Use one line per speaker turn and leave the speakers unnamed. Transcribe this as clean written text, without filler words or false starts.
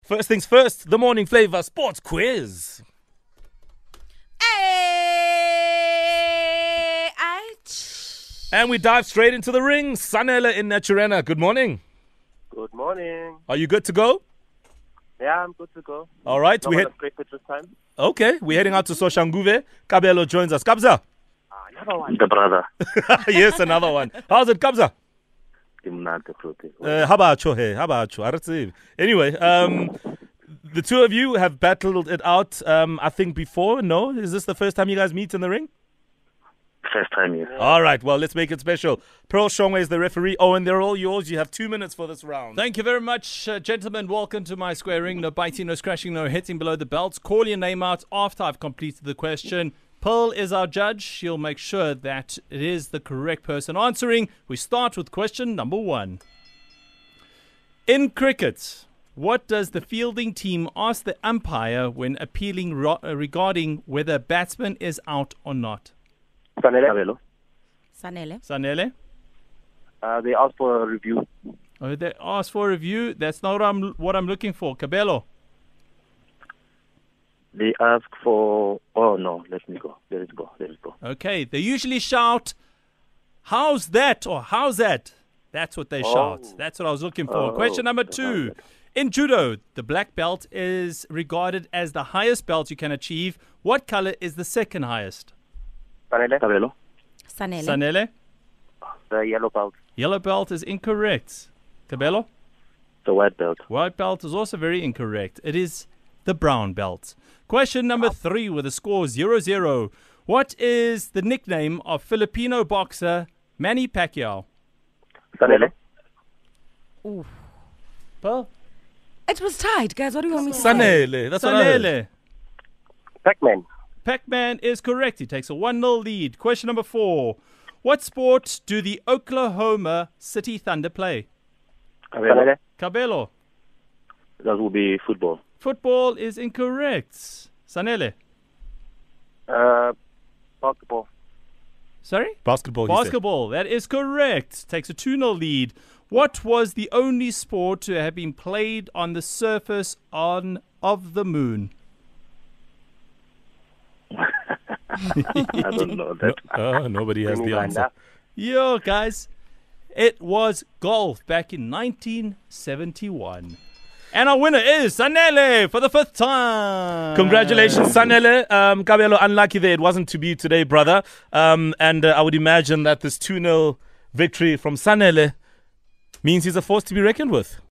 First things first, the morning flavor sports quiz. And we dive straight into the ring. Sanele in Naturena. Good morning.
Good morning.
Are you good to go?
Yeah, I'm good to go.
All right.
We had breakfast this time.
Okay, we're heading out to Soshanguve. Kabelo joins us. Kabza.
Another one. The brother.
Yes, another one. How's it, Kabza? How about you? Hey, how about you? Anyway, the two of you have battled it out, I think, before. No? Is this the first time you guys meet in the ring?
First time, yes.
All right, well, let's make it special. Pearl Shongwe is the referee. Owen, they're all yours. You have 2 minutes for this round.
Thank you very much, gentlemen. Welcome to my square ring. No biting, no scratching, no hitting below the belts. Call your name out after I've completed the question. Pearl is our judge. She'll make sure that it is the correct person answering. We start with question number 1. In cricket, what does the fielding team ask the umpire when appealing regarding whether a batsman is out or not?
Sanele.
Sanele?
They asked for a review.
Oh, they asked for a review. That's not what I'm looking for. Kabelo.
They ask for... Oh, no. Let me go. Let it go.
Okay. They usually shout, "How's that?" or "How's that?" That's what they shout. That's what I was looking for. Question number 2. In judo, the black belt is regarded as the highest belt you can achieve. What color is the second highest? Sanele?
The yellow belt.
Yellow belt is incorrect. Kabelo?
The white belt.
White belt is also very incorrect. It is the brown belt. Question number 3 with a score 0-0. What is the nickname of Filipino boxer Manny Pacquiao?
Sanele.
Ooh.
Pearl?
It was tight, guys. What do you want me to say?
Sanele. That's what I heard.
Sanele.
Pac-Man.
Pac-Man is correct. He takes a 1-0 lead. Question number 4. What sport do the Oklahoma City Thunder play?
Sanele.
Kabelo.
That will be football.
Football is incorrect. Sanele.
Basketball.
Sorry?
Basketball.
Basketball. That is correct. Takes a 2-0 lead. What was the only sport to have been played on the surface of the moon?
I don't know that.
Nobody has the answer.
Yo, guys. It was golf back in 1971. And our winner is Sanele for the 5th time.
Congratulations, Sanele. Kabelo, unlucky there. It wasn't to be today, brother. And I would imagine that this 2-0 victory from Sanele means he's a force to be reckoned with.